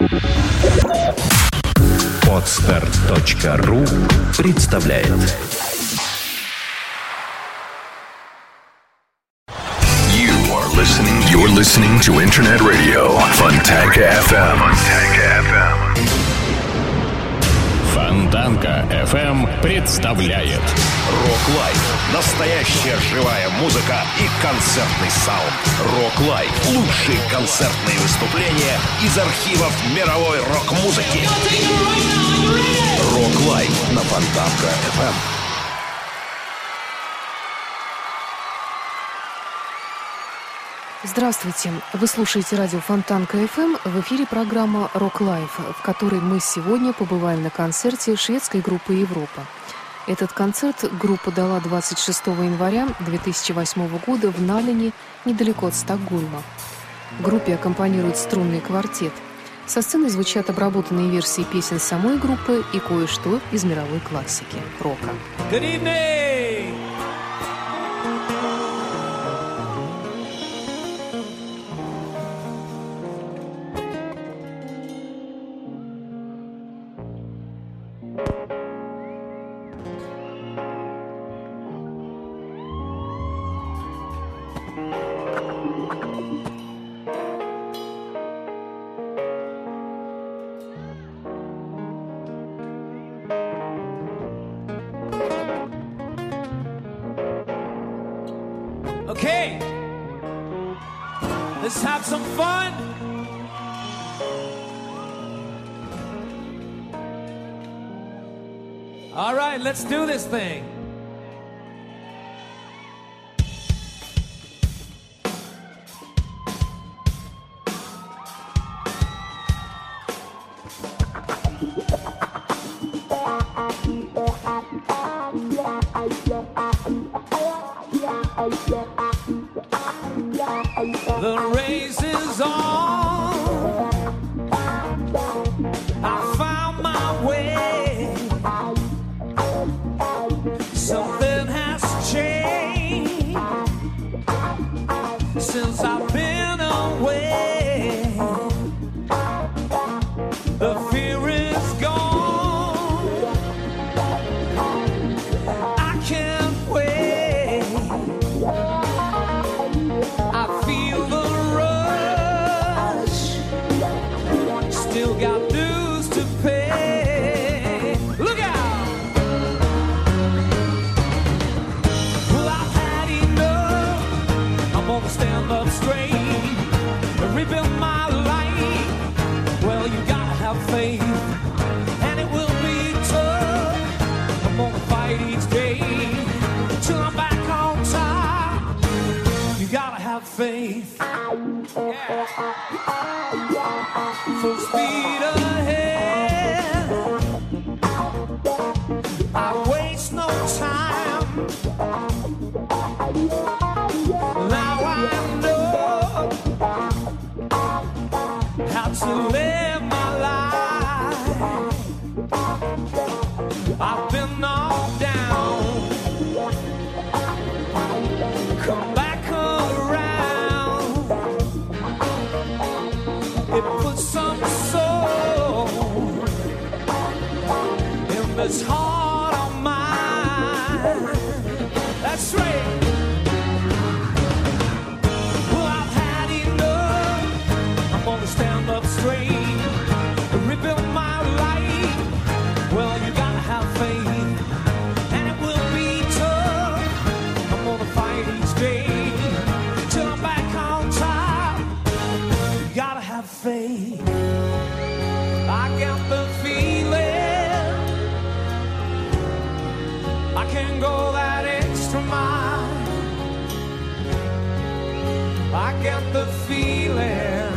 Podster.ru представляет. You're listening to Internet Radio Fontanka FM. Фонтанка FM представляет Рок Лайф. Настоящая живая музыка и концертный саунд. Рок Лайф. Лучшие концертные выступления из архивов мировой рок-музыки. Рок Лайф на Фонтанка FM. Здравствуйте! Вы слушаете радио Фонтанка FM. В эфире программа «Рок Лайф», в которой мы сегодня побываем на концерте шведской группы «Европа». Этот концерт группа дала 26 января 2008 года в Налине, недалеко от Стокгольма. Группе аккомпанирует струнный квартет. Со сцены звучат обработанные версии песен самой группы и кое-что из мировой классики рока. Good evening! Okay, let's have some fun. All right, let's do this thing. The race is on. I found my way. Something has changed since I've been away. The fear is gone. I can't wait. I feel the rush. Still got dues to pay. Look out! Well, I've had enough. I'm gonna stand up straight and rebuild my life. Well, you gotta have faith, and it will be tough. I'm gonna fight each day till I'm back on top. You gotta have faith. Yeah. Full speed ahead. I waste no time. Now I know how to live my life. I've been knocked down. Come back around. It puts some soul in this heart of mine. That's right. Well, I've had enough. I'm gonna stand up straight and rebuild my life. Well, you gotta have faith, and it will be tough. I'm gonna fight each day till I'm back on top. You gotta have faith. I got the feeling I can go that extra mile. I got the feeling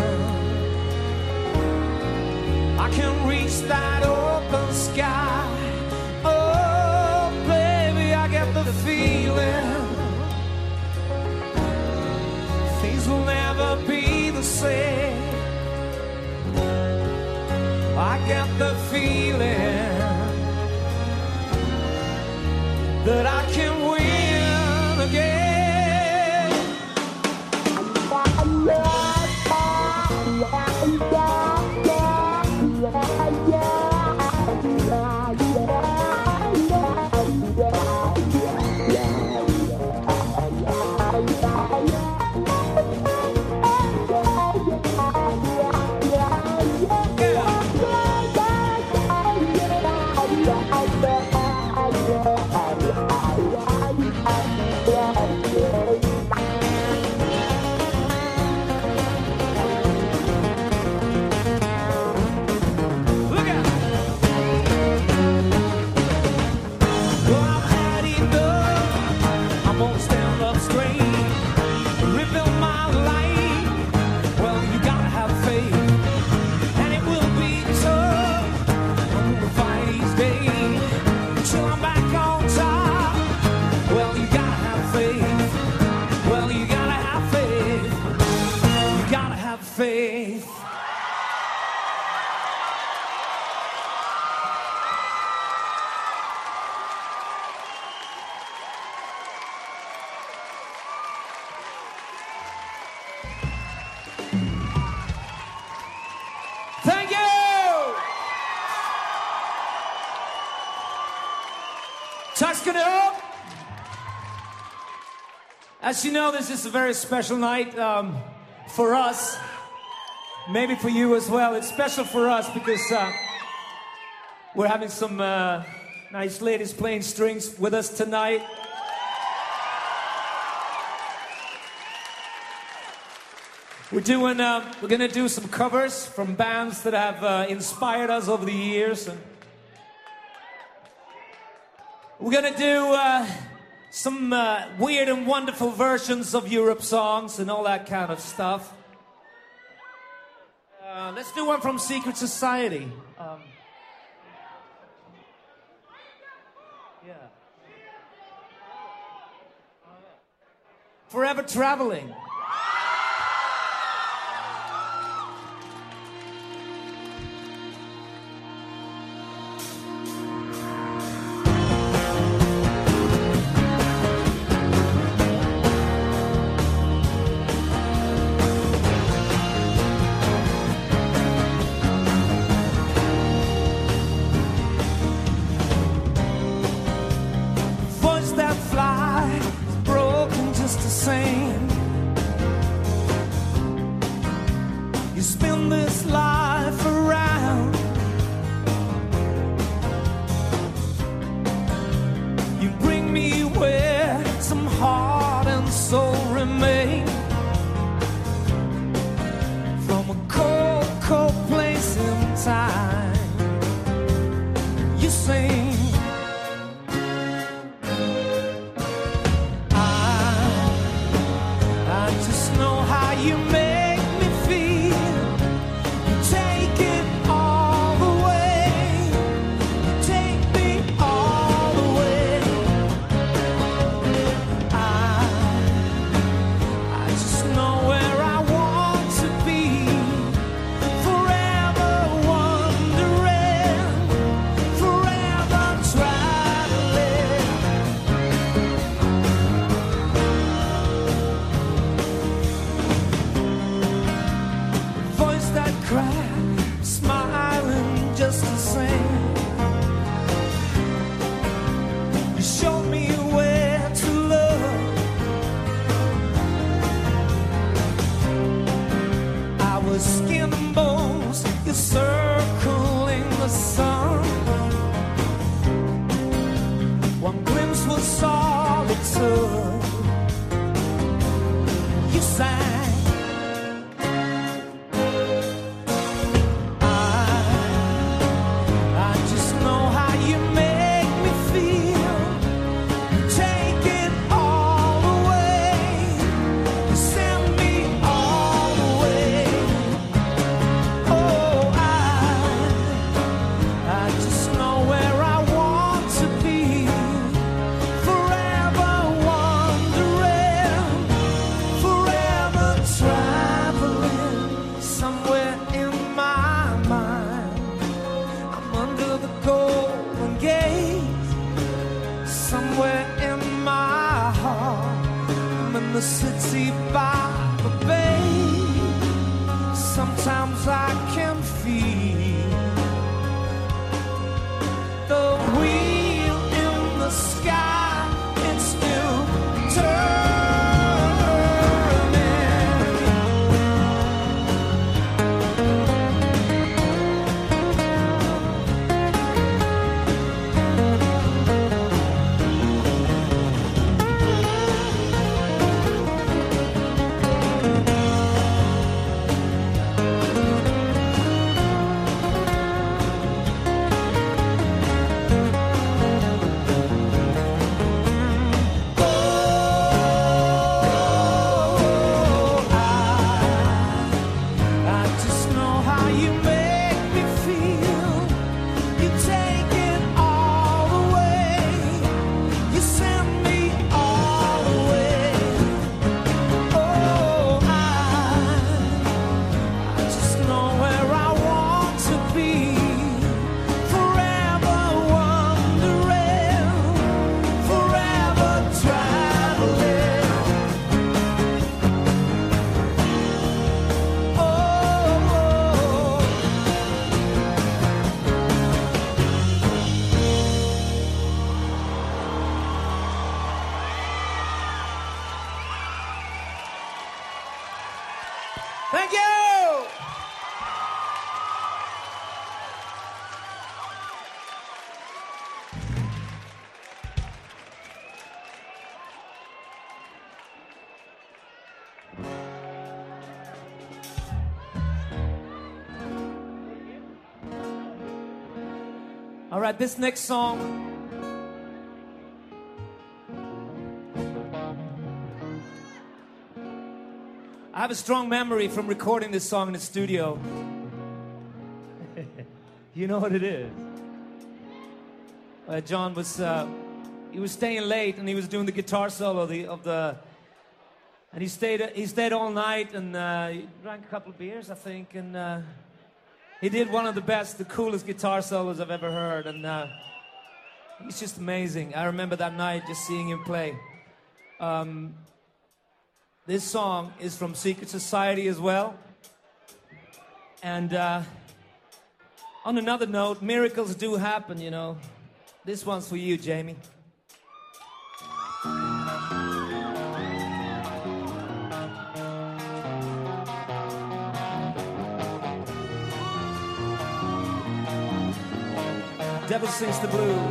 I can reach that open sky. Oh, baby, I got the feeling things will never be the same. I got the feeling that I can win again. it up. As you know, this is a very special night for us. Maybe for you as well. It's special for us because we're having some nice ladies playing strings with us tonight. We're gonna do some covers from bands that have inspired us over the years. And we're gonna do some weird and wonderful versions of Europe songs and all that kind of stuff. Let's do one from Secret Society. Forever Traveling. You spin this life around. You bring me where some heart and soul remain. From a cold, cold place in time, you sing. I just know how you make me feel. You take it all the way. You take me all the way. I just know where I want to be. Forever wondering, forever traveling. Voice that crack, smiling just the same. You show me where to look. I was skin and bones, you're circling the sun. One glimpse was all it took. You sang. I just know how you make me feel. You take it all away. You send me all the way. Oh, I just know where I want to be. Forever wondering, forever traveling. Somewhere in my mind, I'm under the golden gate. Somewhere in my heart, I'm in the city by the bay. Sometimes I can feel the wheel in the sky. It's still turning. All right, this next song, I have a strong memory from recording this song in the studio. You know what it is? John was he was staying late and he was doing the guitar solo and he stayed all night and he drank a couple of beers, I think, and he did one of the coolest guitar solos I've ever heard, and he's just amazing. I remember that night just seeing him play. This song is from Secret Society as well. And on another note, miracles do happen, you know. This one's for you, Jamie. Devil Sings the Blues.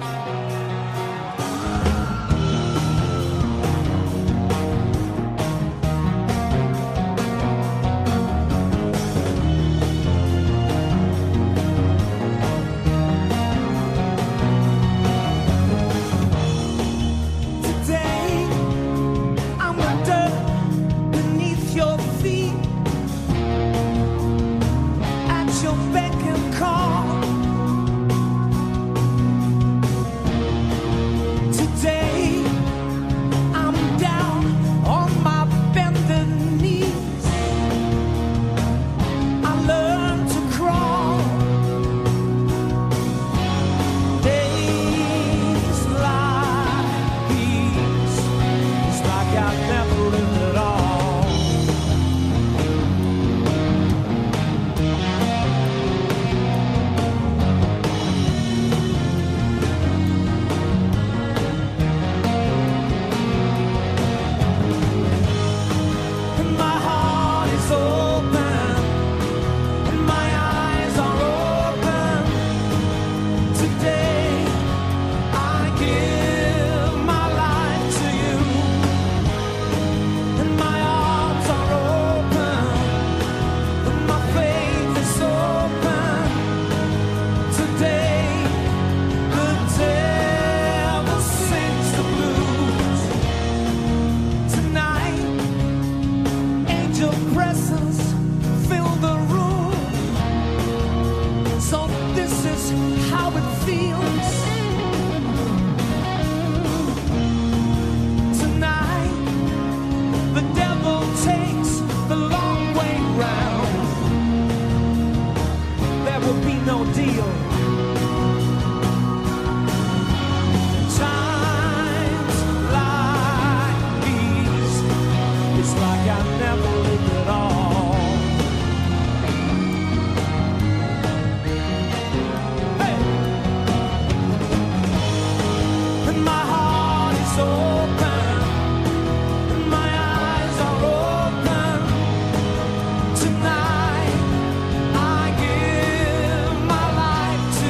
Tonight I give my life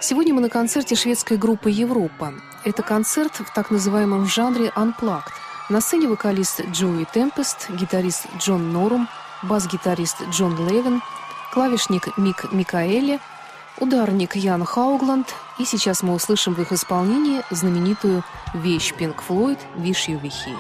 Сегодня мы на концерте шведской группы «Европа». Это концерт в так называемом жанре «Unplugged». На сцене вокалист Джоуи Темпест, гитарист Джон Норум, бас-гитарист Джон Левин, клавишник Мик Микаэли, ударник Ян Хаугланд. И сейчас мы услышим в их исполнении знаменитую вещь Pink Floyd «Wish You Were Here».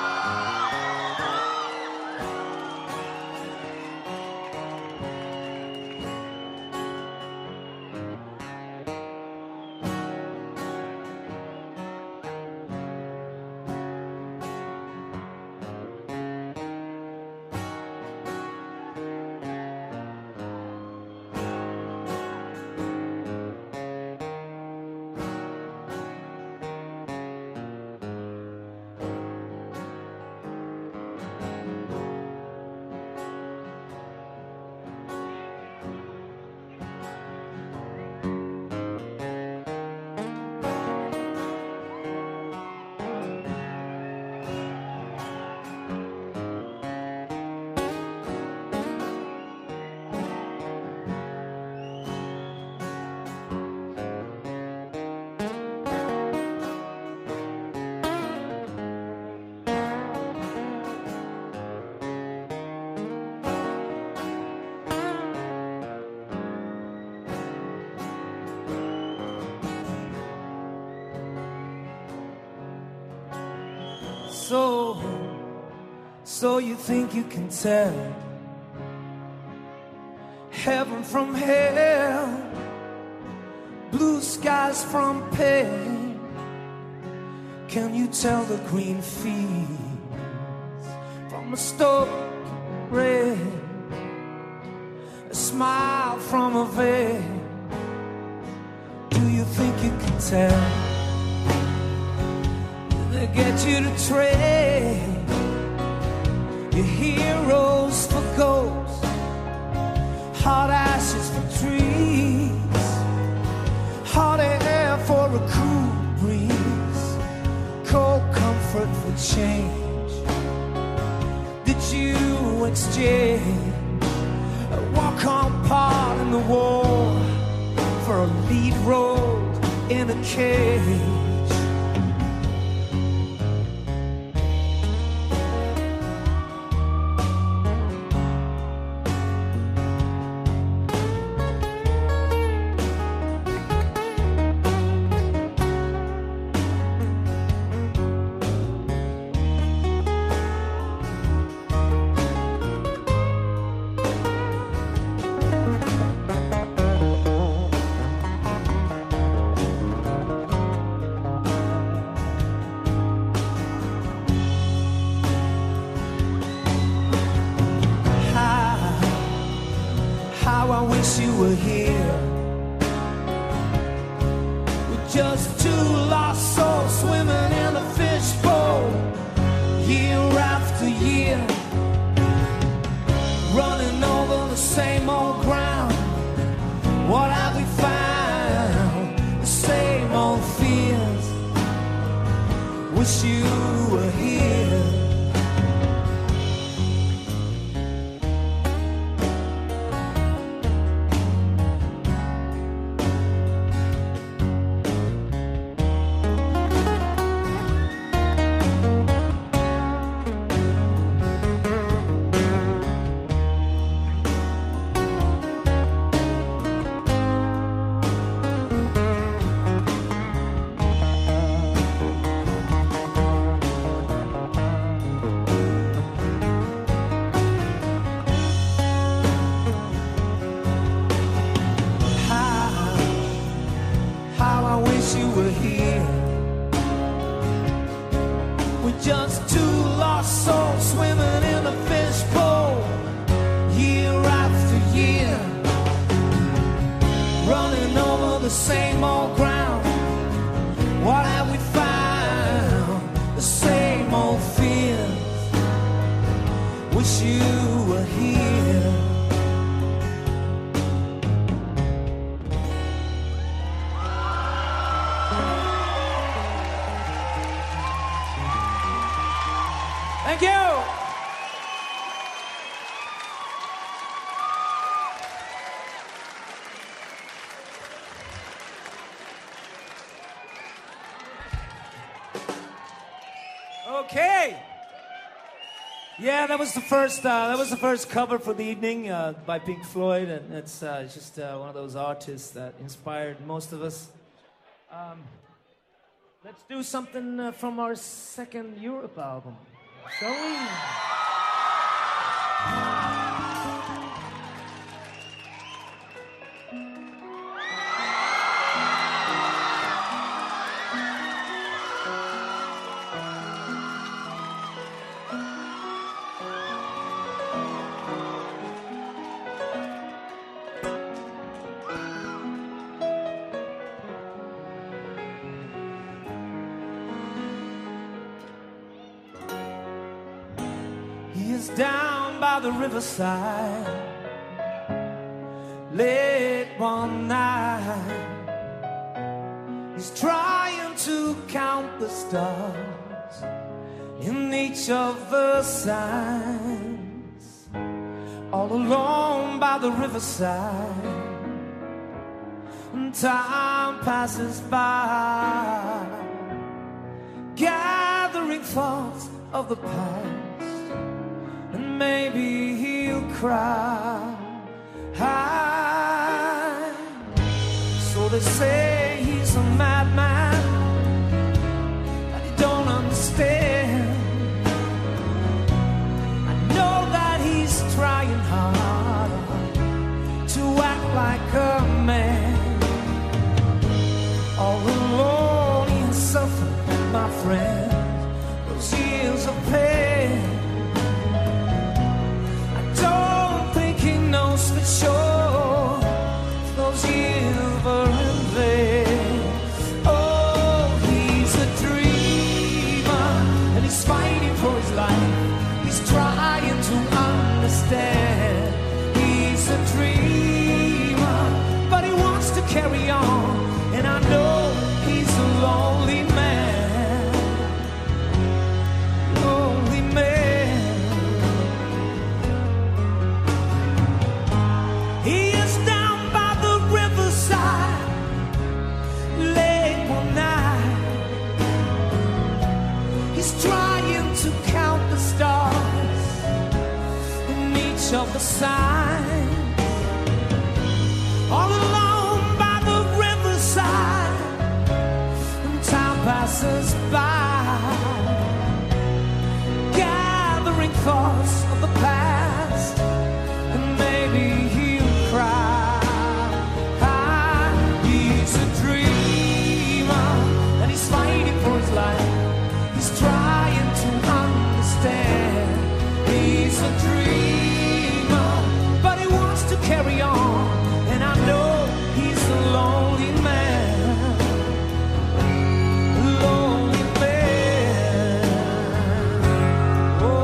So you think you can tell heaven from hell, blue skies from pale? Can you tell the green fields from a stoic red, a smile from a veil? Do you think you can tell? They get you to trade your heroes for ghosts, hot ashes for trees, hot air for a cool breeze, cold comfort for change. Did you exchange a walk-on part in the war for a lead role in a cage? You were here with just two lost souls swimming in a fishbowl, year after year, running over the same old ground. What have we found? The same old fears. Wish you were here. You were here with just two lost souls swimming in a fishbowl, year after year, running over the same old ground. What have we found? The same old fears. Wish you were here. Thank you. Okay. Yeah, that was the first cover for the evening by Pink Floyd, and it's just one of those artists that inspired most of us. Let's do something from our second Europe album, shall we? Down by the riverside, late one night, he's trying to count the stars in each of the signs. All alone by the riverside, and time passes by, gathering thoughts of the past. Maybe he'll cry. So they say he's a madman, that he don't understand. I know that he's trying hard to act like a man. All alone he has suffered, my friend, those years of pain. For sure, those years were in vain. Oh, he's a dreamer, and he's fighting for his life. He's trying to understand. He's a dreamer, but he wants to carry on. And I know he's a lonely man. Lonely man. He is down by the riverside, late one night. He's trying to count the stars in each of the signs. All alone by the riverside, and time passes by, gathering thoughts of the past, and maybe he's a dreamer, and he's fighting for his life. He's trying to understand. He's a dreamer, but he wants to carry on. And I know he's a lonely man. Lonely man. Oh.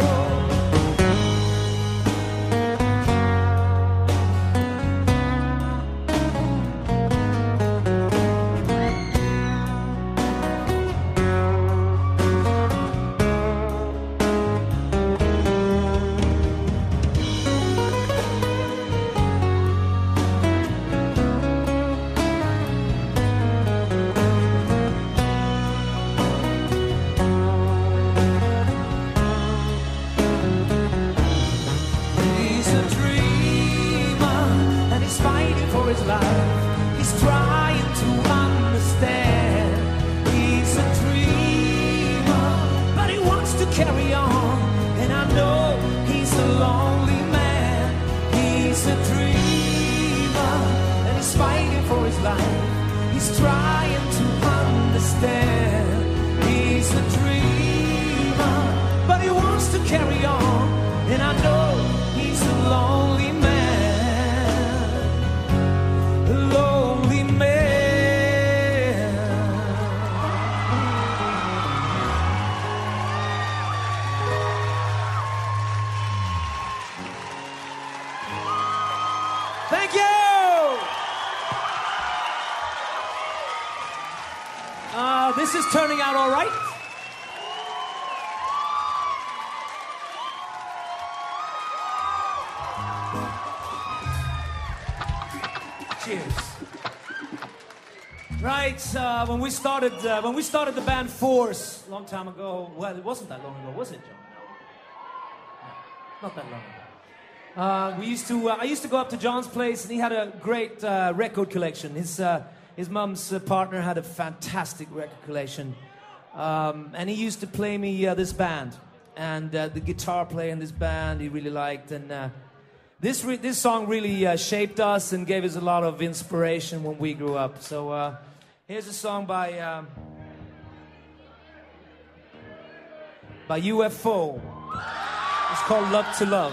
Carry on, and I know he's a lonely man. He's a dreamer, and he's fighting for his life. He's trying to understand. He's a dreamer, but he wants to carry on, and I know he's a lonely man. A lonely man. Thank you! This is turning out all right. Cheers. Right, when we started the band Force a long time ago. Well, it wasn't that long ago, was it, John? No, not that long ago. I used to go up to John's place, and he had a great record collection. His mum's partner had a fantastic record collection, and he used to play me this band, and the guitar player in this band he really liked, and this song really shaped us and gave us a lot of inspiration when we grew up. So here's a song by UFO. It's called Love to Love.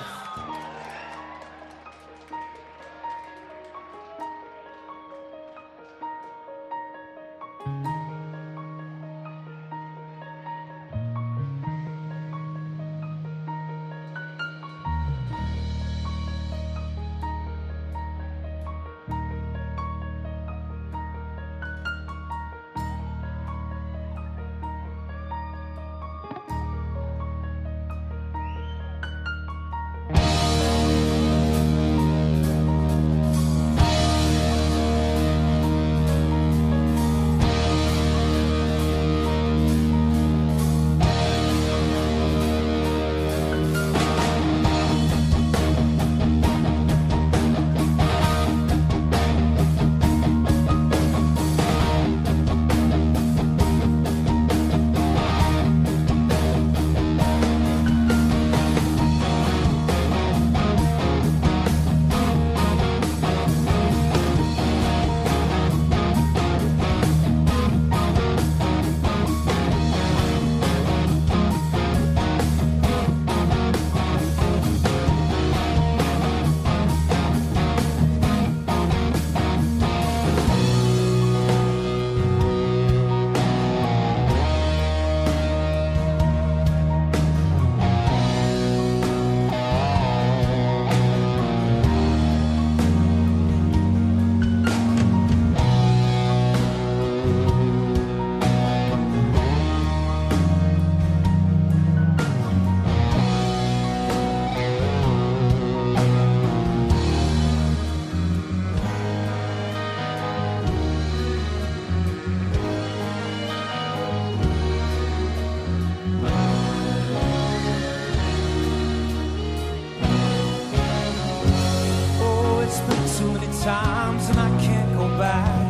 Times and I can't go back.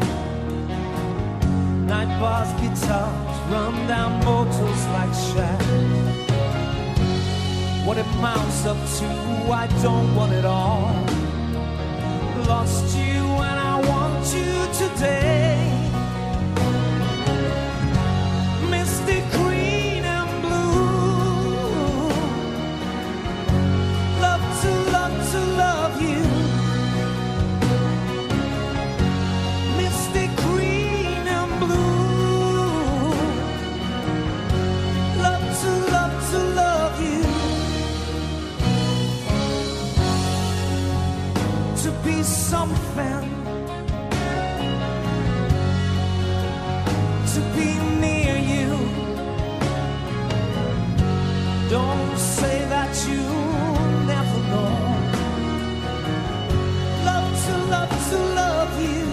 Night bars, guitars, run down motors like shack. What it mounts up to, I don't want it all. Lost you and I want you today. Misty green and blue. Love to love you. Something to be near you. Don't say that you never know. Love to love you.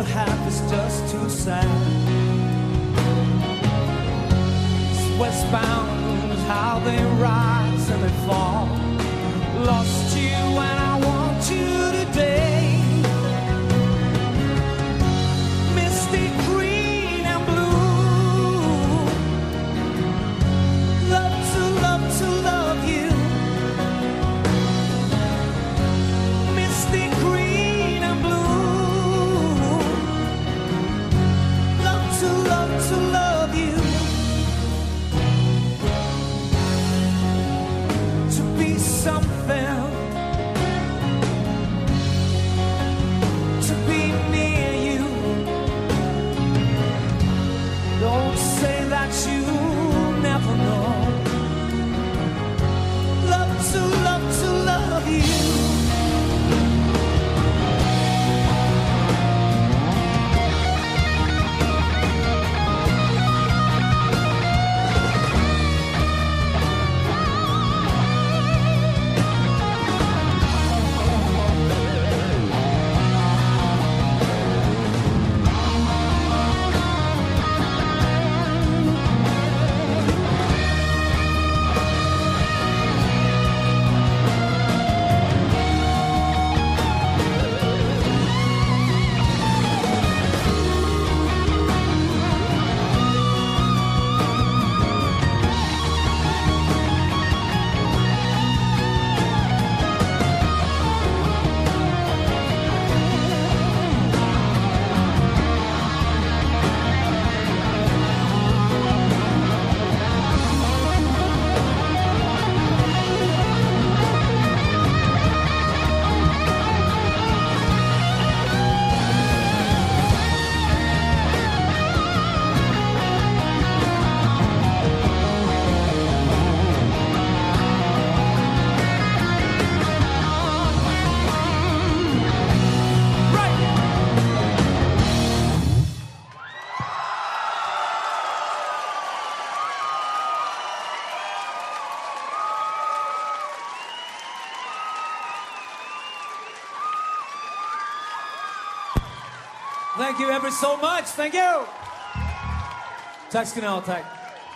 half is just too sad. It's westbound is how they rise and they fall. Lost you and I want you today. Misty green and blue. Love to love to love you. Misty green and blue. Love to love you. To be something. To be near you. Don't say that you never know. Love to love you. Thank you ever so much. Thank you. Tack ska ni ha, tack.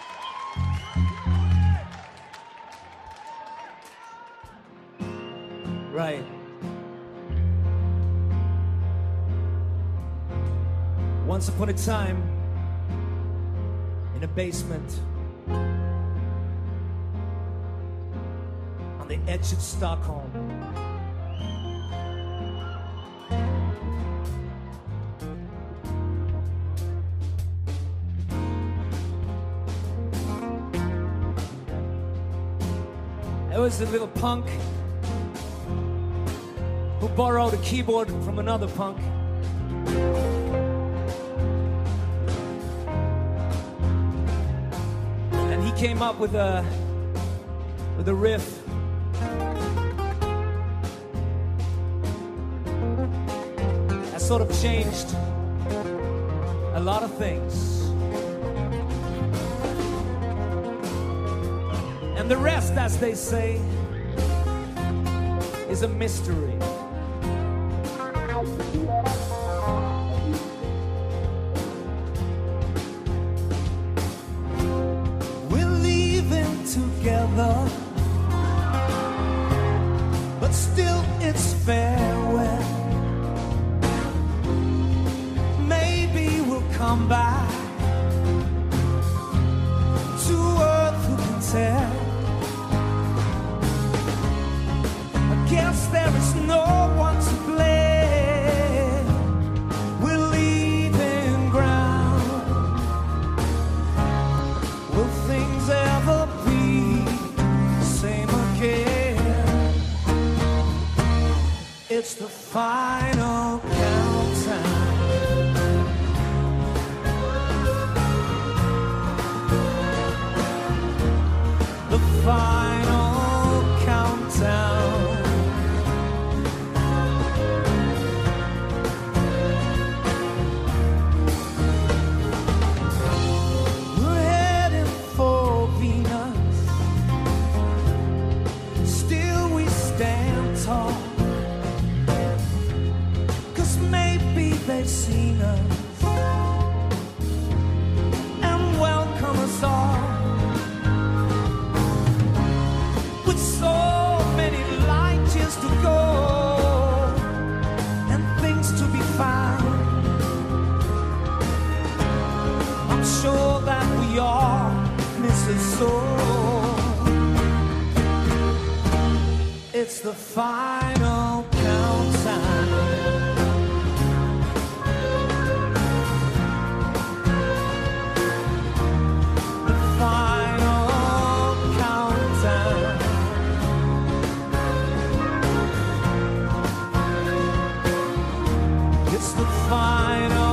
Right. Once upon a time, in a basement, on the edge of Stockholm, there was a little punk who borrowed a keyboard from another punk. And he came up with a riff. That sort of changed a lot of things. And the rest, as they say, is a mystery. We're leaving together, but still it's farewell. Maybe we'll come back to earth, who can tell? Guess there is no one to blame. We're leaving ground. Will things ever be the same again? It's the final countdown. The final countdown. soul. It's the final countdown. The final countdown. It's the final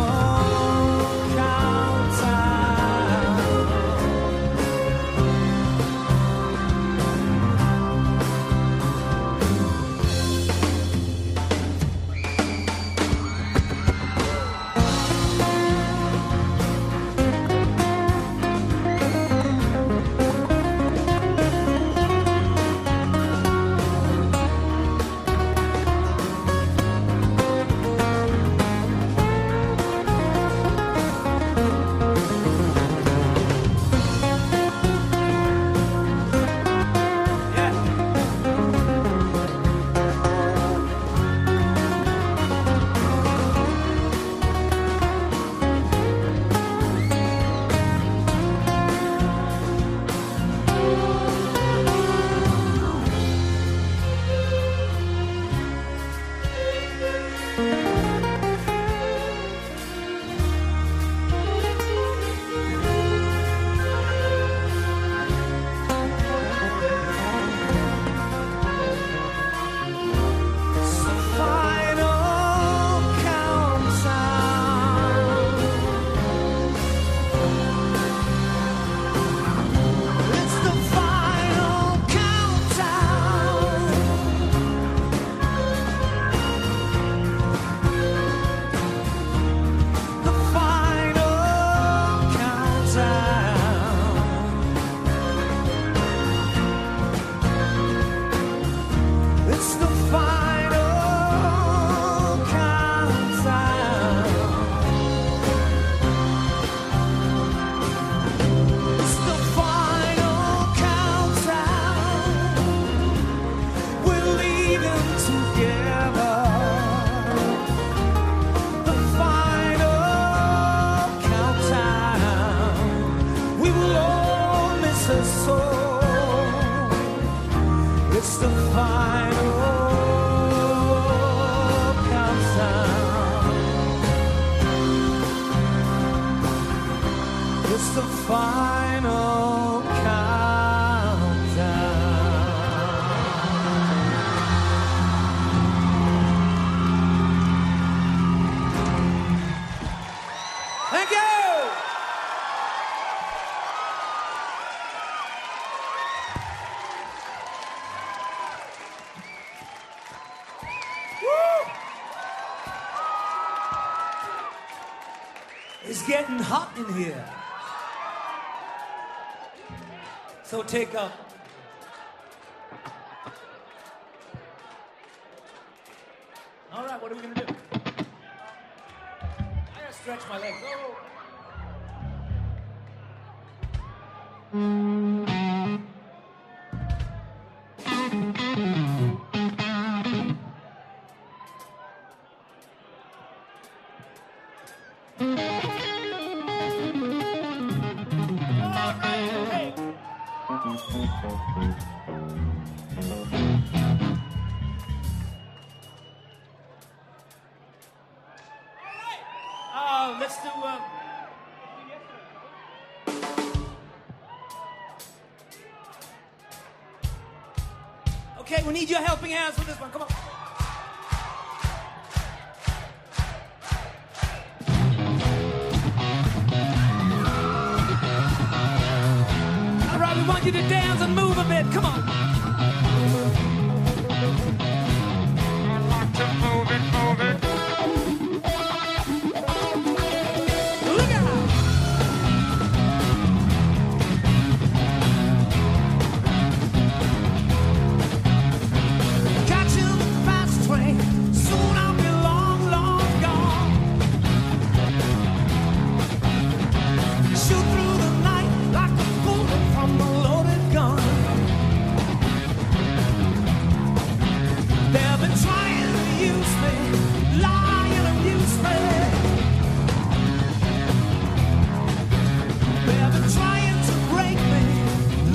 final countdown. Thank you. It's getting hot in here. So take up. All right, what are we gonna do? I gotta stretch my legs. Oh. Let's do okay, we need your helping hands for this one. Come on. All right, we want you to dance and move a bit. Come on. I like to move it, move it. Trying to break me,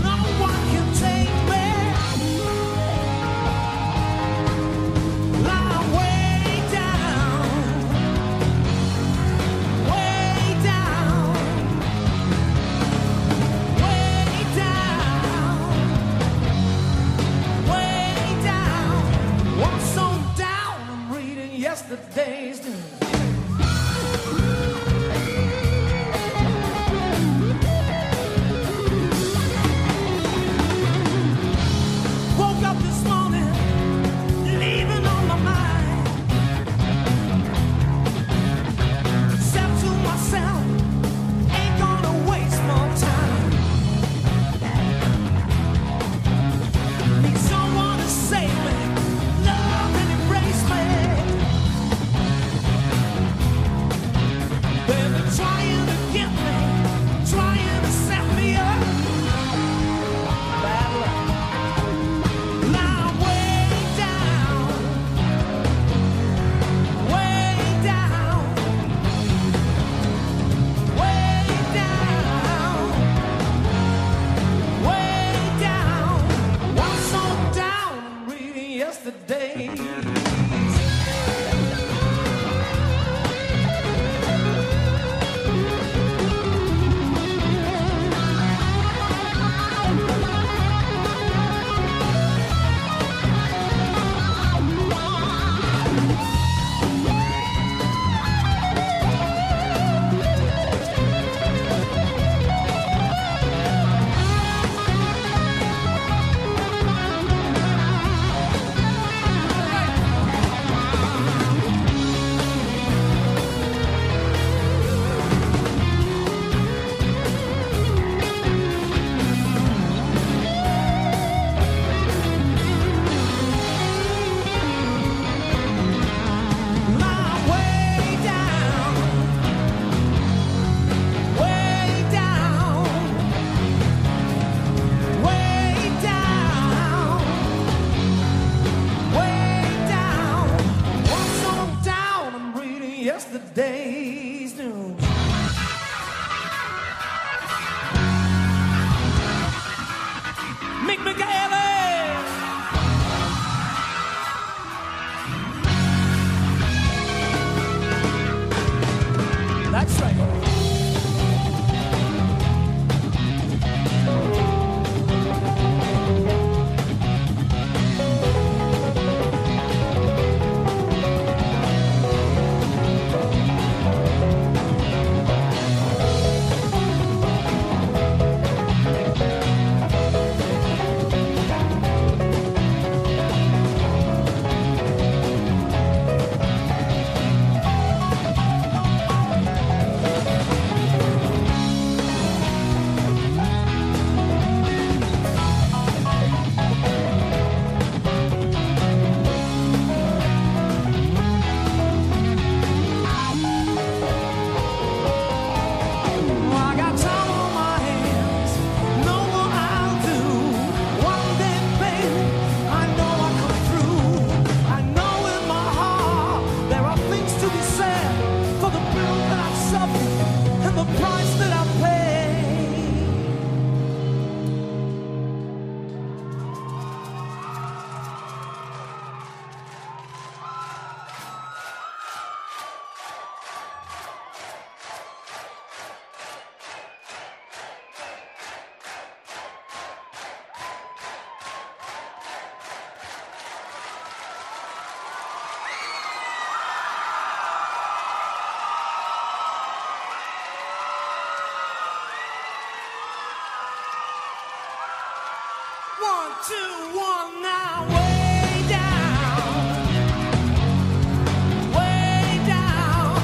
1, 2, 1, now way down, way down,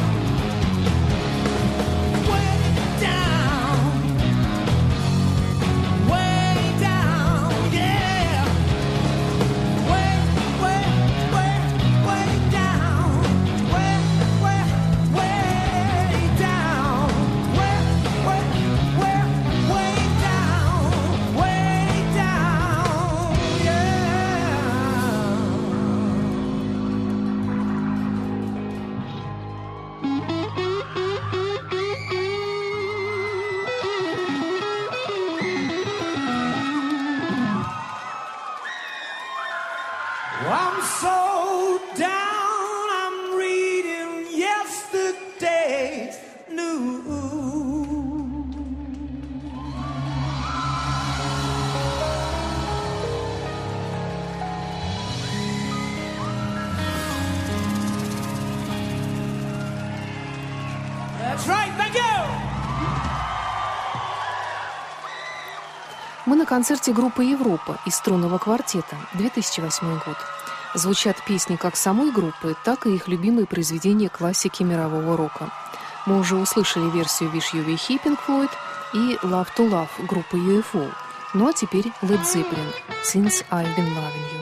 way down, way down, yeah, way, way, way, way down, way, way, way down, way, way, way, way down, way down, yeah. I'm so down, I'm reading yesterday's news. That's right, thank you. Мы на концерте группы «Европа» из струнного квартета, 2008 год. Звучат песни как самой группы, так и их любимые произведения классики мирового рока. Мы уже услышали версию «Wish You Were Here» Pink Floyd и «Love to Love» группы UFO. Ну а теперь Led Zeppelin «Since I've Been Loving You».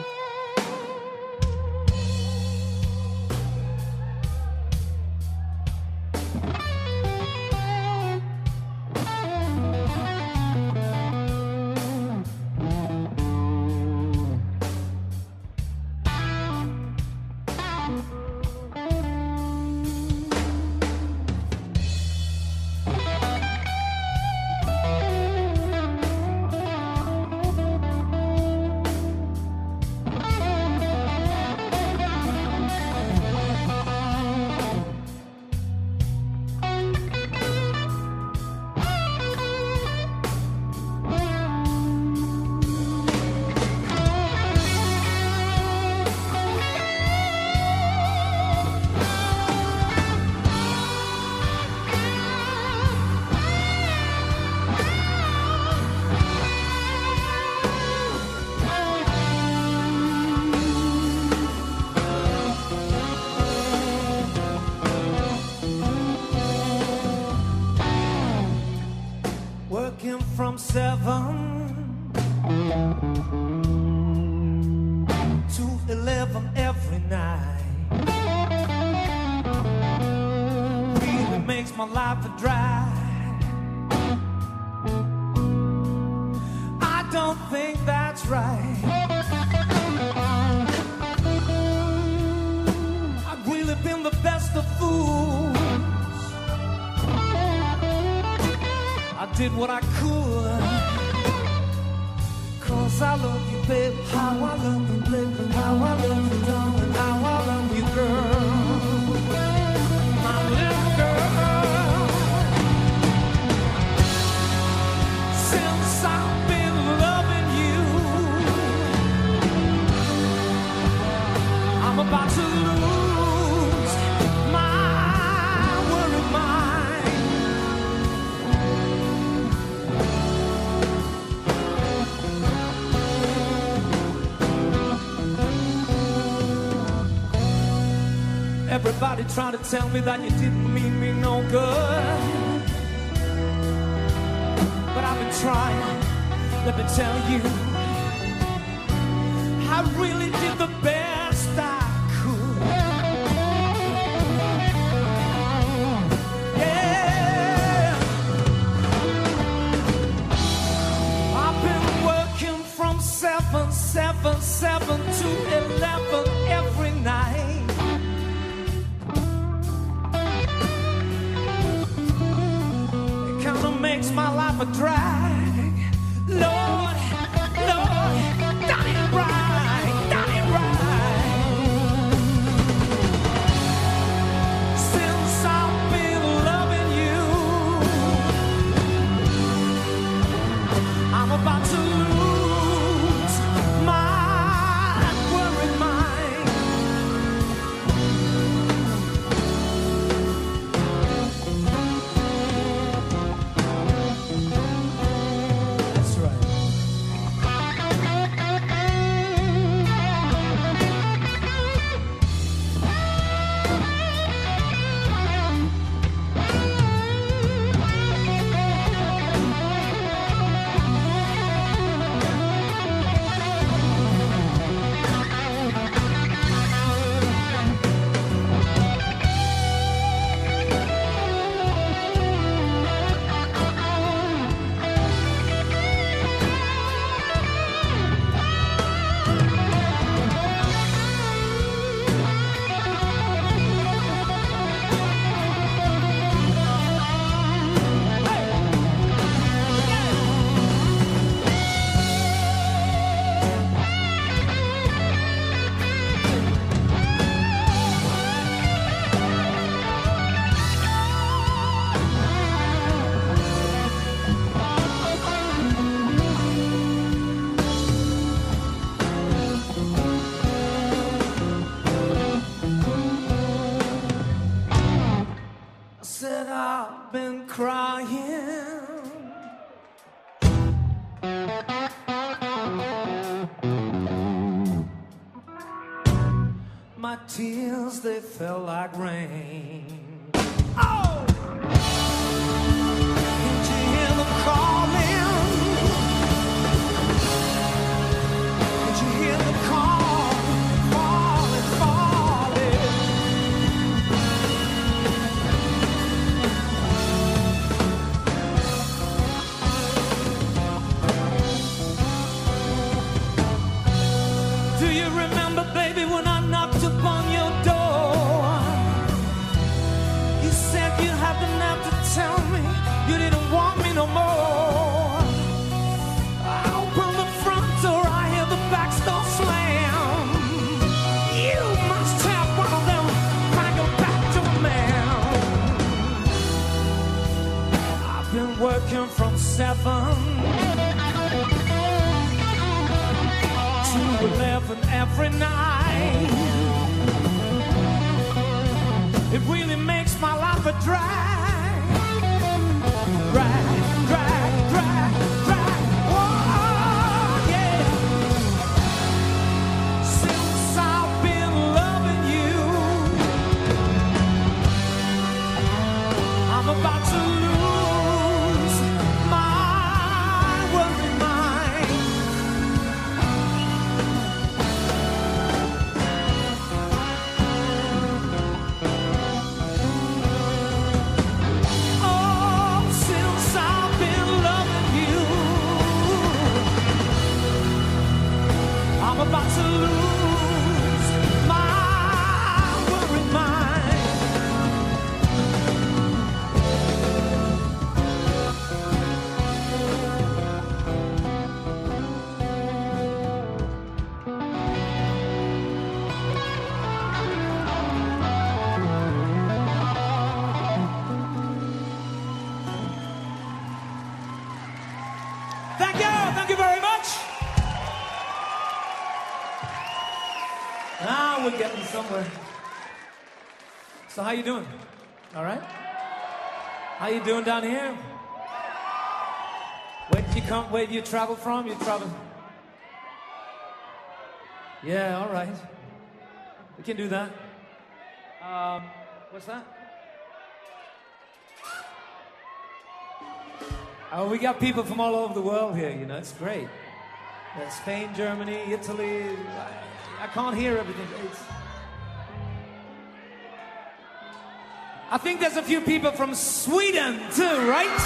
Working from 7 to 11 every night really makes my life a drag. I don't think that's right. I've really been the best of fools. I did what I could, 'cause I love you, babe. How I love you, babe. How I love you, darling. How I love you, girl. My little girl. Since I've been loving you, I'm about to lose my worried mind. Everybody trying to tell me that you didn't mean me no good, but I've been trying. Let me tell you, I really did the best I could. Yeah, I've been working from 7 to 11 every night. Makes my life a drag. Lord, Lord, done it right, done it right. Since I've been loving you, I'm about to lose my worried mind. That's right. words, they fell like rain. Oh! Can't you hear them calling? Can't you hear them calling? Falling, falling. Do you remember, baby, when I knocked upon your door? You said you had the nerve to tell me you didn't want me no more. I opened the front door, I hear the back door slam. You must have one of them kind of back door man. I've been working from 7 to 11 every night. It really makes my life a drag. Drag, drag, drag, drag. Oh, yeah. Since I've been loving you, I'm about to lose my worried mind. Oh, since I've been loving you, I'm about to lose my worried mind. Thank you very much. Now we're getting somewhere. So how you doing? All right? How you doing down here? Where did you come? Where did you travel from? You travel? Yeah, all right. We can do that. What's that? Oh, we got people from all over the world here, you know, it's great. Spain, Germany, Italy. I can't hear everything. I think there's a few people from Sweden too, right?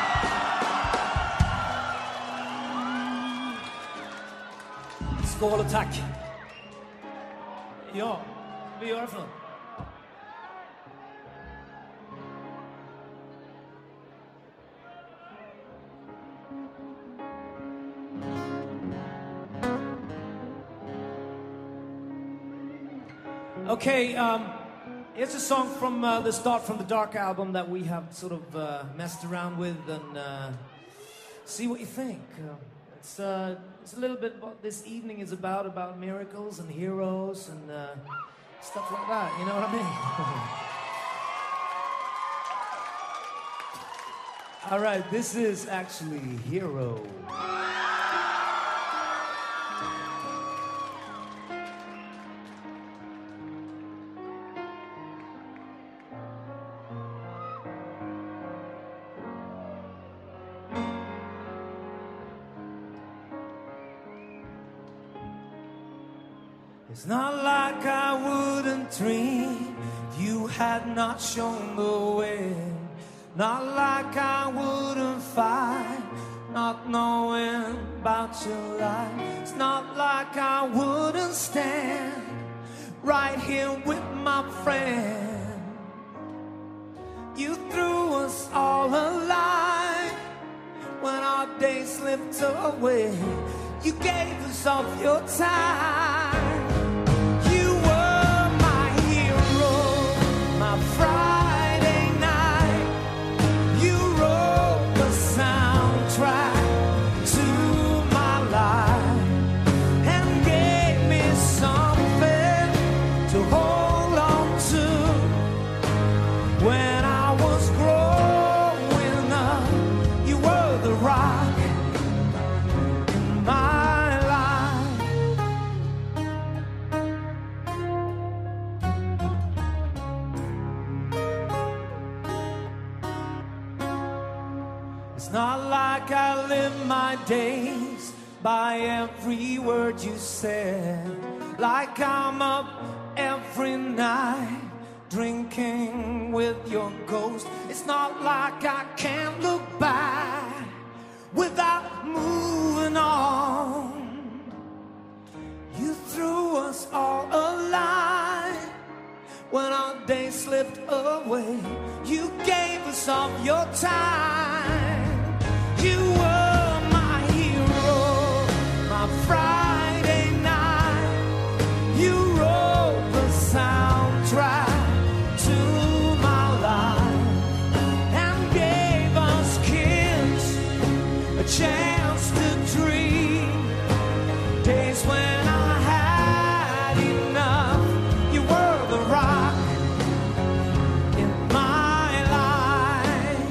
Skål och tack. Ja, vi gör det för något. Okay, here's a song from the Start from the Dark album that we have sort of messed around with and see what you think. It's a little bit what this evening is about miracles and heroes and stuff like that, you know what I mean? All right, this is actually Hero. It's not like I wouldn't dream you had not shown the way. Not like I wouldn't fight, not knowing about your life. It's not like I wouldn't stand right here with my friend. You threw us all a line when our days slipped away. You gave us of your time. You were my hero, my Friday night. You wrote the soundtrack to my life and gave me something to hold on to. When I was growing up, you were the rock in my life. I live my days by every word you said. Like I'm up every night drinking with your ghost. It's not like I can't look back without moving on. You threw us all a line when our day slipped away. You gave us all your time. You were my hero, my Friday night. You wrote the soundtrack to my life and gave us kids a chance to dream. Days when I had enough. You were the rock in my life.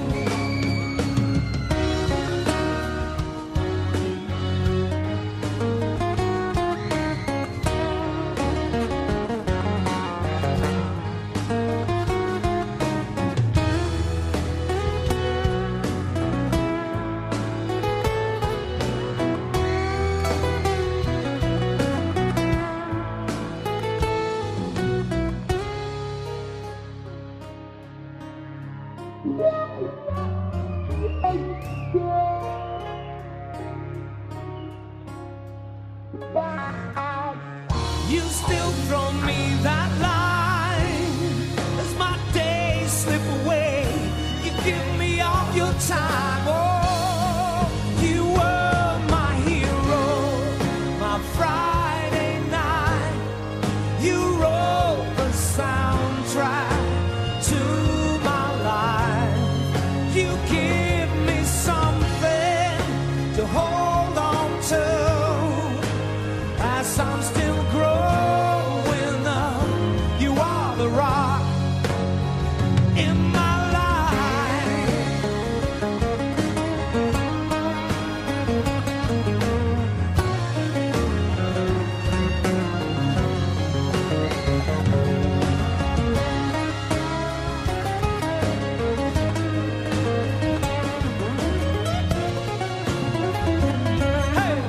You still throw me that line as my days slip away. You give me all your time. Oh, you were my hero, my Friday night. You wrote the soundtrack to my life. You give me something to hold on to as I'm still growing up. You are the rock in my life. Hey!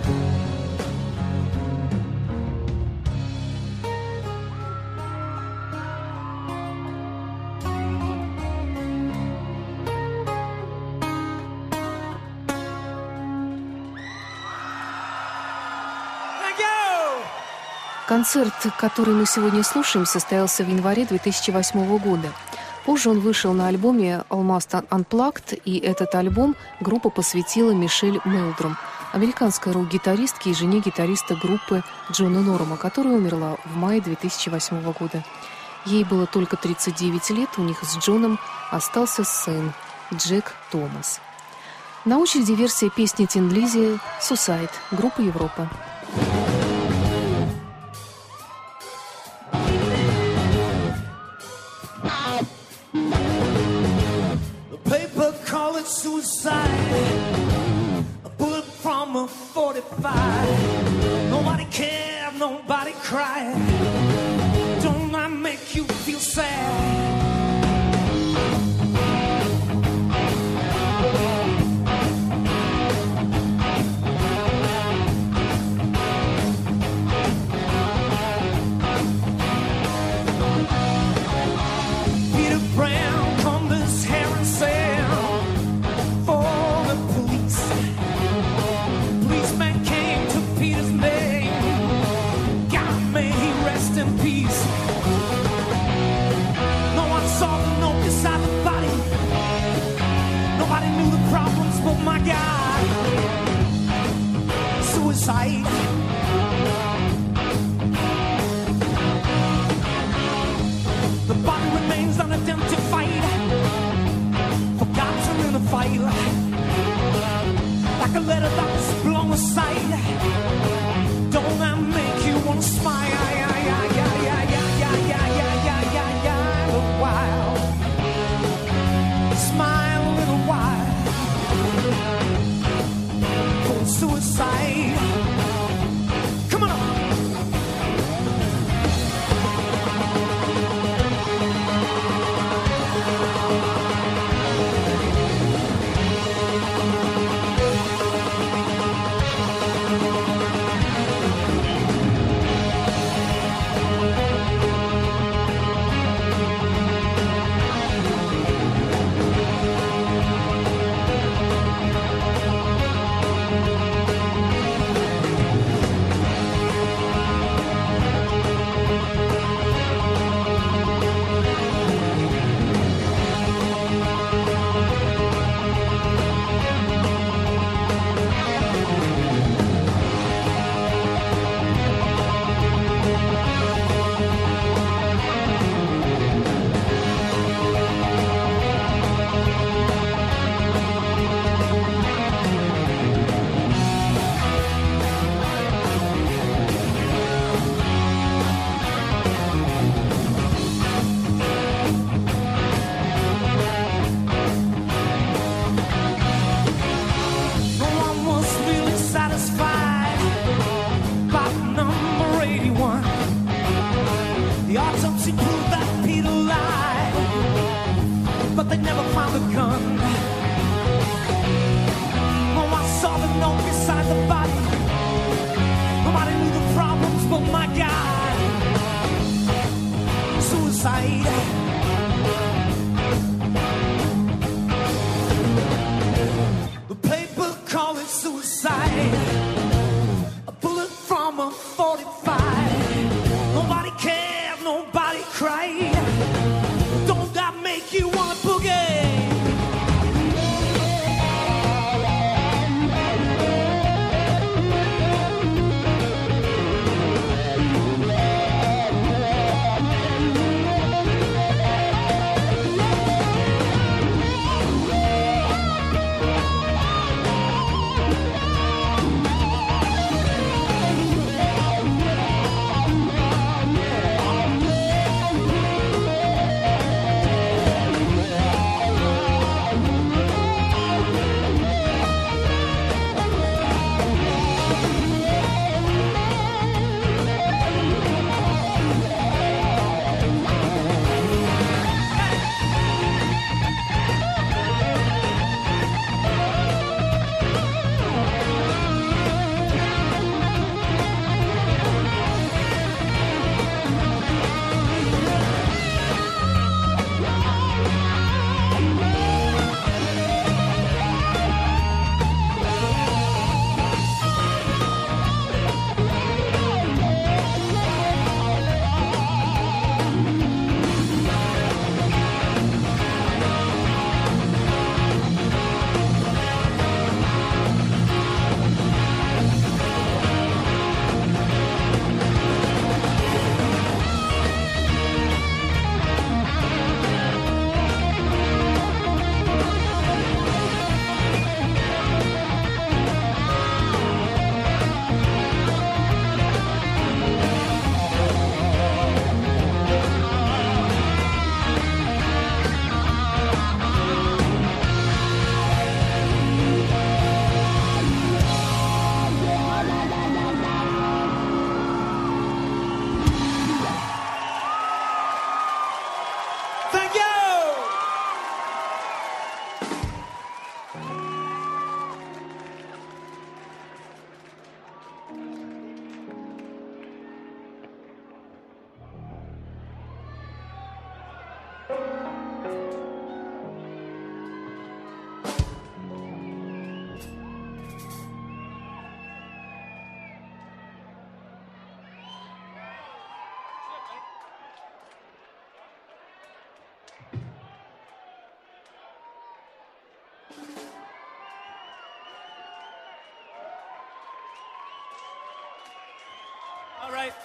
Thank you! Концерт, который мы сегодня слушаем, состоялся в январе 2008 года. Позже он вышел на альбоме Almost Unplugged, и этот альбом группа посвятила Мишель Мелдром, американской рок-гитаристке и жене гитариста группы Джона Норма, которая умерла в мае 2008 года. Ей было только 39 лет, у них с Джоном остался сын Джек Томас. На очереди версия песни Тин Лиззи «Suicide» группы Европа. The paper call it suicide. A bullet from a 45. Nobody cared, nobody cried. Don't that make you feel sad? Peter Brown combed his hair and said, for the police. Policeman came to Peter's name. God, may he rest in peace. No one saw the note beside the body. Nobody knew the problems but my God. Suicide. The body remains unidentified, forgotten in a fight, like a letter that was blown aside. Don't that make you wanna smile? A while, smile a little while. For suicide. Come on up. the gun. Oh, I saw the note beside the body. Nobody knew the problems but my God. Suicide. The paper call it suicide. A bullet from a 45. Nobody cared, nobody cried. Don't that make you wanna boogie? All right.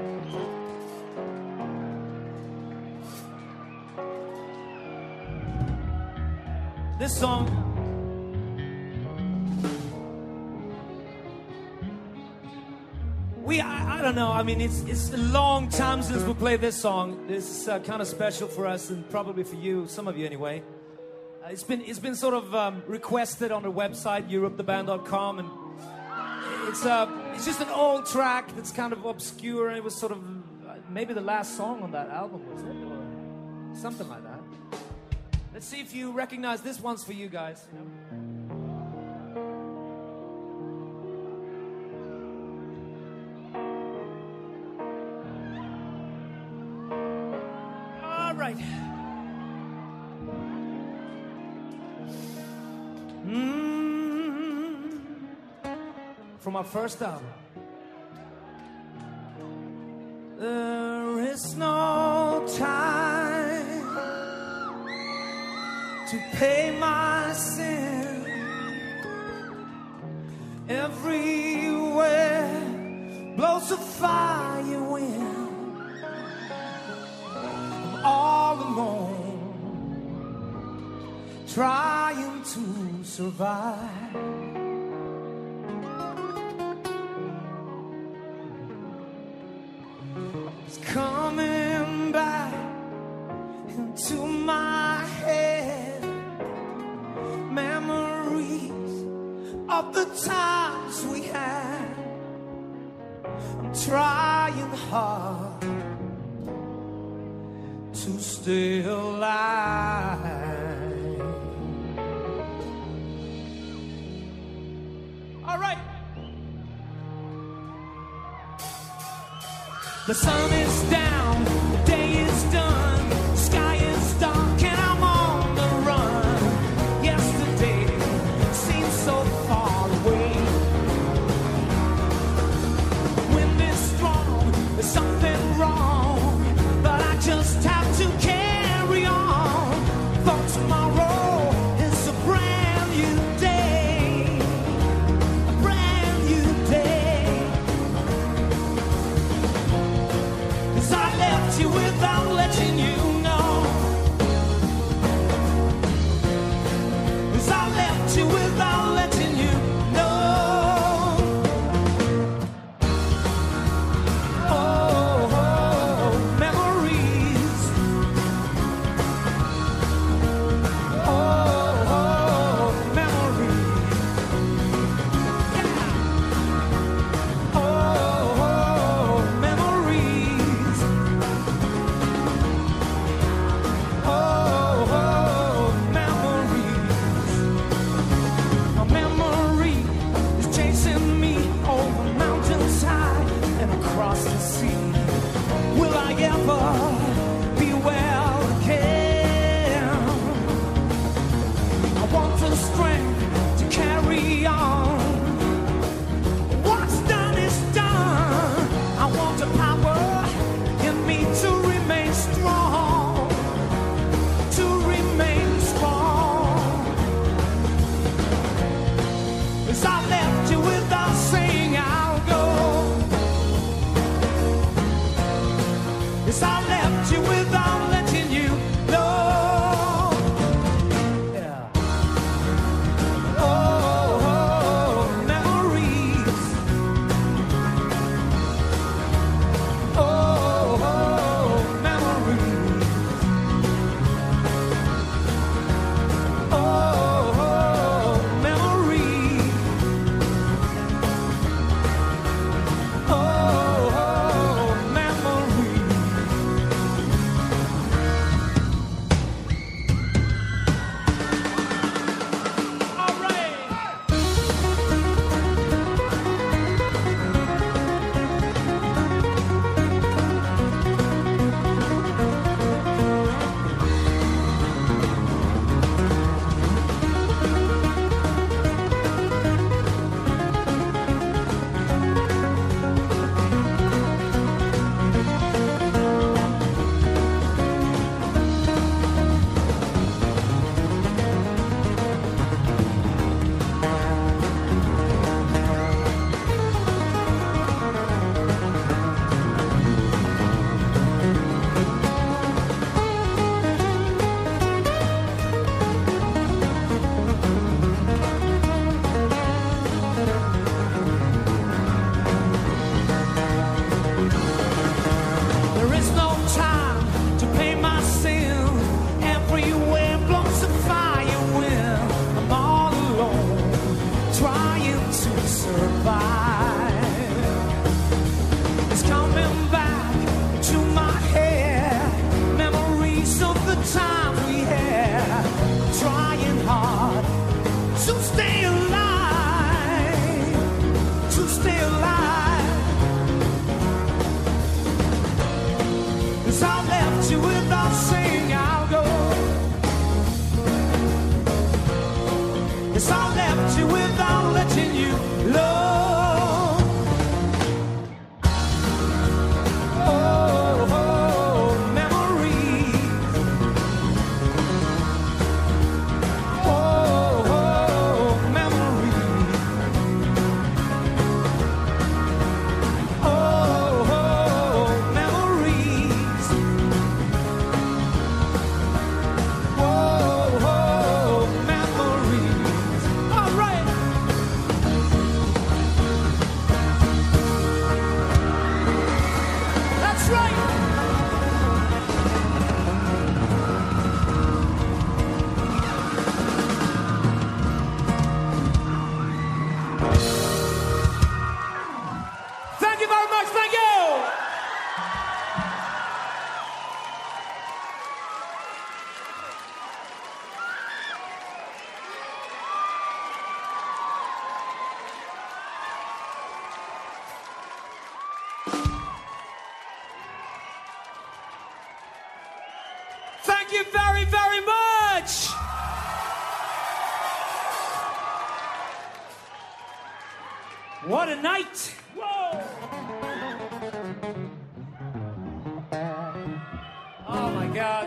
This song, I don't know. I mean, it's a long time since we played this song. This is kind of special for us and probably for you, some of you anyway. It's been sort of requested on the website europetheband.com, and it's just an old track that's kind of obscure, and it was sort of maybe the last song on that album, was it, or something like that. Let's see if you recognize this one's for you guys. All right. From our first album. There is no time to pay my sin. Everywhere blows a fire wind. I'm all alone, trying to survive. Coming back into my head, memories of the times we had. I'm trying hard to stay alive. All right. The sun is down, the day is done, the sky is dark, and I'm on the run. Yesterday seems so far away. Wind is strong, there's something wrong, but I just have to carry on. For tomorrow is a brand new day, a brand new day. 'Cause I left you without letting you know. 'Cause I left you without letting you know. Oh, oh, memories. Oh, oh, memories. Yeah. Oh, oh, memories. Oh, oh, memories. A memory is chasing me over mountains high and across the sea. Will I ever be well again? I want the strength to carry on. What's done is done. I want the power in me to remain strong, to remain strong. 'Cause I left you without saying I'll go. 'Cause I left you without letting you know. Yeah. Oh, oh, memories. Oh, oh, memories. Oh, oh, memories. Oh, oh, memories. All right. There is no time to pay my sin. Everywhere blows a fire wind. I'm all alone, trying to survive. It's coming back to my head. Memories of the time we had. Trying hard to stay alive, to stay alive. 'Cause I left you without saying I'll go. 'Cause I left you without letting you know. you very, very much. What a night. Whoa. Oh my God.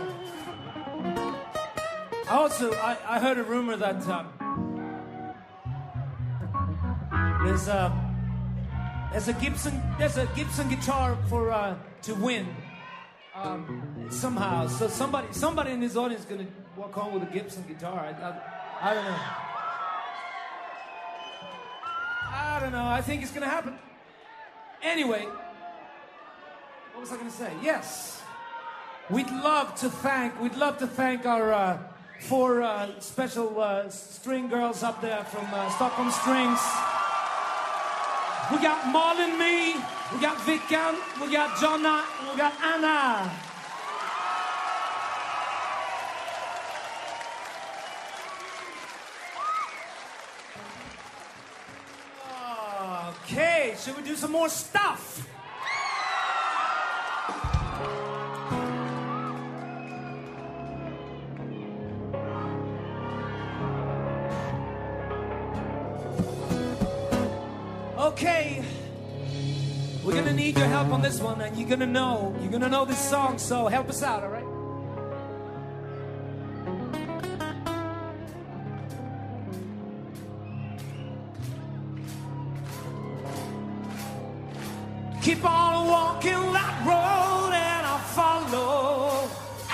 I heard a rumor that there's a Gibson guitar for to win somehow. So somebody in this audience is gonna walk home with a Gibson guitar. I don't know. I don't know. I think it's gonna happen. Anyway, what was I gonna say? Yes, we'd love to thank our 4 special string girls up there from Stockholm Strings. We got Marlon, me, we got Vickan, we got Jonna, and we got Anna. Okay, should we do some more stuff? Okay, we're gonna need your help on this one, and you're gonna know this song, so help us out, all right? Keep on walking that road and I'll follow.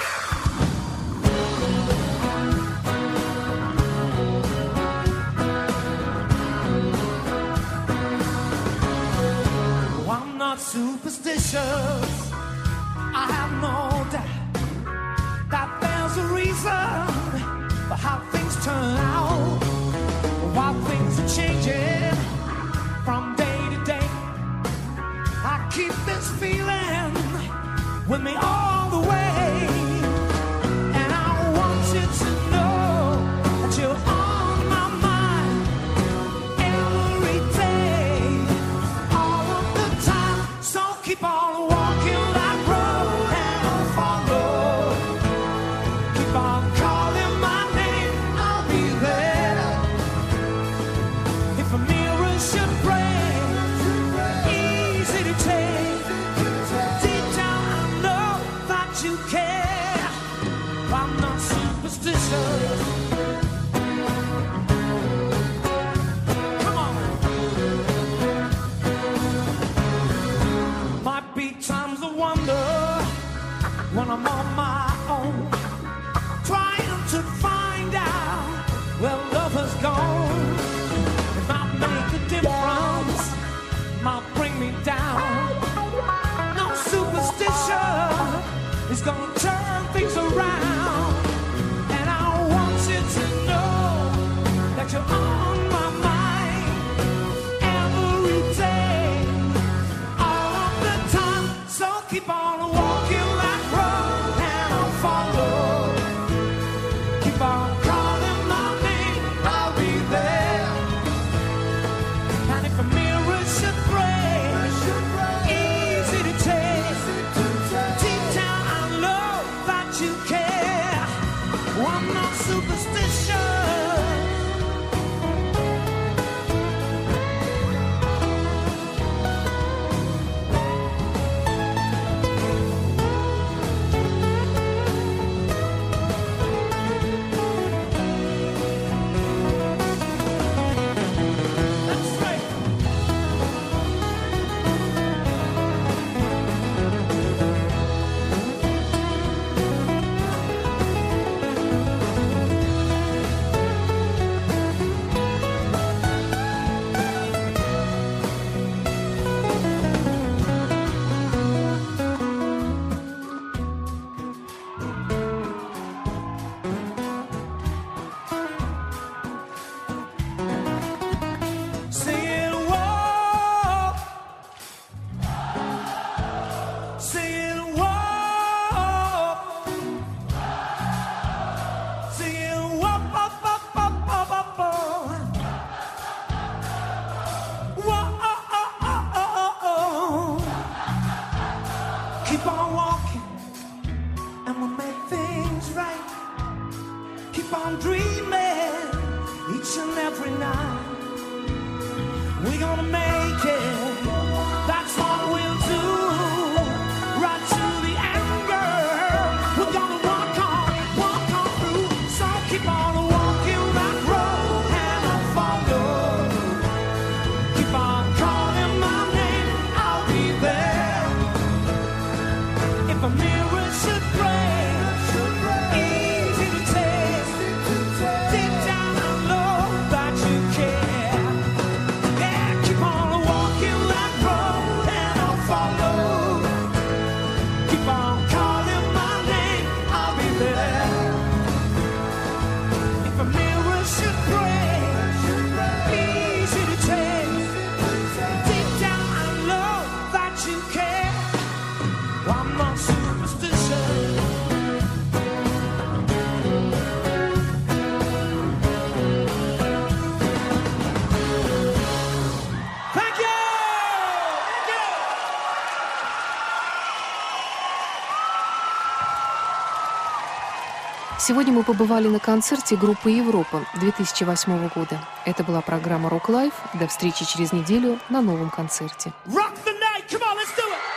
I'm not superstitious. I have no doubt that there's a reason for how things turn out, while things are changing from day to day. I keep this feeling with me all the way, and I want you to know that you're on my mind every day, all of the time. So keep on walking that road and I'll follow. Keep on calling my name, I'll be there. If a mirror should break, easy to take, deep down I know that you care. I'm not superstitious. Come on. Might be times of wonder when I'm on my own, trying to find out where love has gone. It might make a difference gonna make it. That's what we'll do. Right to the end, girl. We're gonna walk on through. So keep on walking that road and I'll follow. Keep on calling my name, I'll be there. If a mirror should break, easy to take. Deep down I know that you care. Yeah, keep on walking that road and I'll follow. Keep on calling my name, I'll be there. If a mirror should break, easy to take. Deep down I know that you care. Well, I'm not superstitious. Thank you! Thank you! Сегодня мы побывали на концерте группы «Европа» 2008 года. Это была программа «Рок Лайф». До встречи через неделю на новом концерте. Rock the night, come on, let's do it!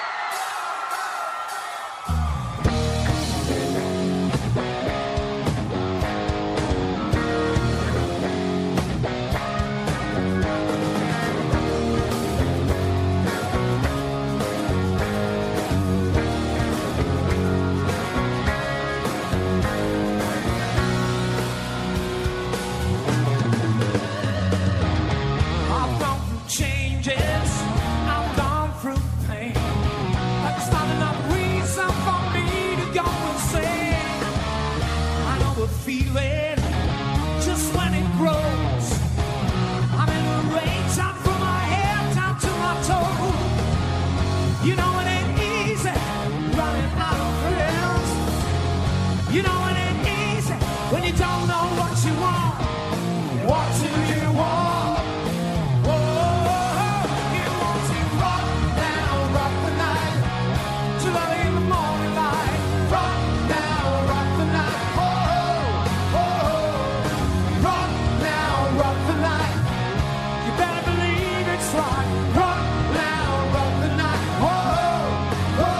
I've gone through changes, I've gone through pain. That's not enough reason for me to go insane. I know the feeling just when it grows. I'm in a rage out from my head down to my toes. You know it ain't easy running out of friends. You know it ain't easy when you don't know what you want. What do you want? Whoa, you want to rock now, rock the night till early in the morning light. Rock now, rock the night. Whoa, rock now, rock the night. You better believe it's right. Rock now, rock the night. Whoa.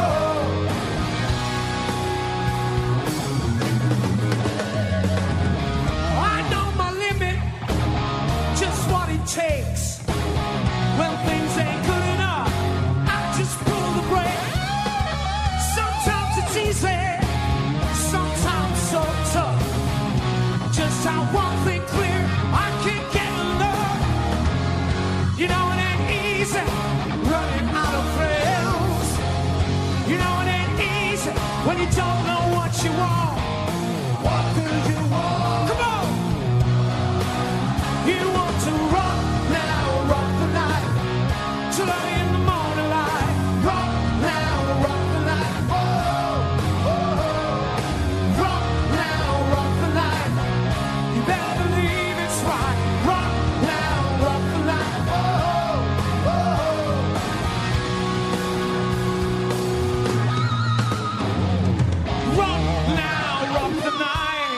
I know my limit, just what it takes. When things ain't good enough, I just pull the brake. Sometimes it's easy, sometimes so tough. Just how one thing clear, I can't get enough. You know it ain't easy running out of friends. You know it ain't easy when you don't know what you want. What do you want? Come on! You want to rock now, rock the night till early in the morning light. Rock now, rock the night. Whoa. Rock now, rock the night. You better believe it's right. Rock now, rock the night. Rock now, rock the night.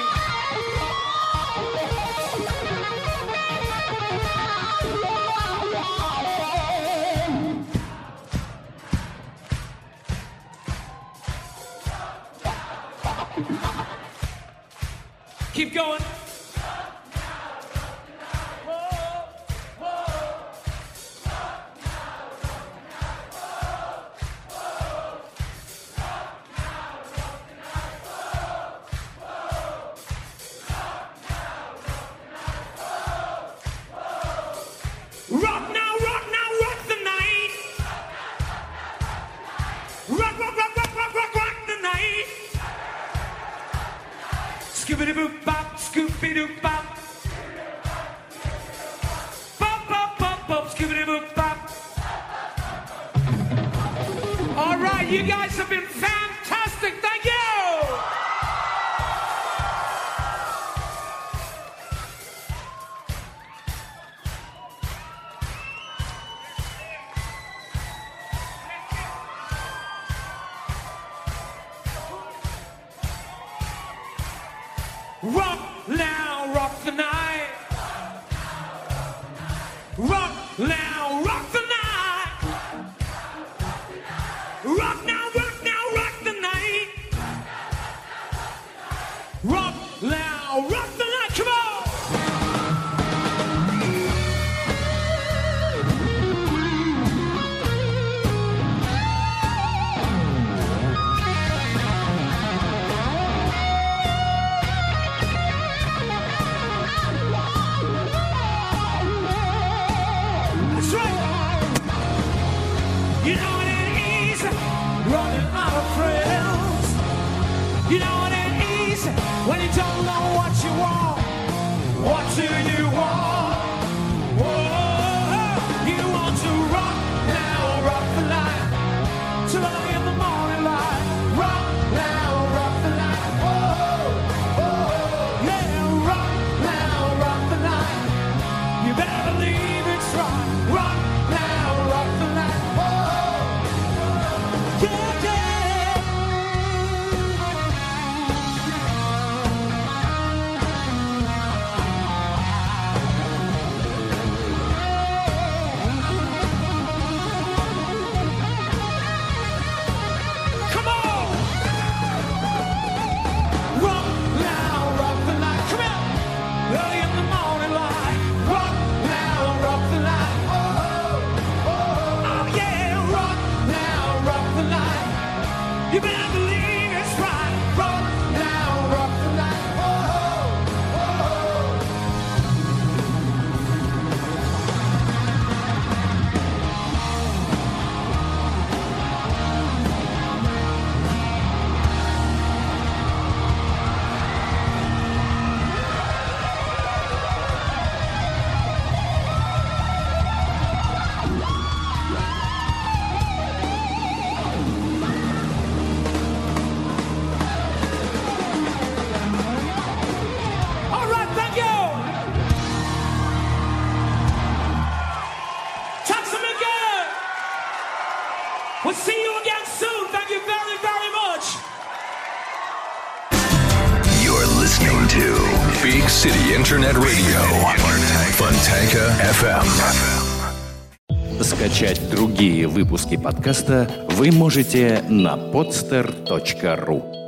Keep going. Rock now, rock now, rock the night. Rock, rock, rock, rock, rock, rock, rock the night. Scoopity boop bop, scoopity doop bop. Bop, bop, bop, bop, scoopity boop bop. All right, you guys have been fantastic. Thank you. Rock now, rock the night. Rock now, rock You know it ain't easy running out of friends. You know it ain't easy when you don't know what you want. What do you want? Whoa, you want to rock now, rock the light till early in the morning light. Rock now, rock the light. Whoa, yeah, rock now, rock the light. You better believe it's right. Rock now, rock the light. Whoa, yeah, yeah. Come on! Rock now, rock the light. Come here! Early in the morning light. Rock now, rock the light. Oh yeah, rock now, rock the light. You better believe it's right. Rock now, rock the light. All right, thank you. Tack så mycket. We'll see you again soon. Thank you very, very much. You're listening to Big City Internet Radio. Fontanka FM. Скачать другие выпуски подкаста вы можете на podster.ru.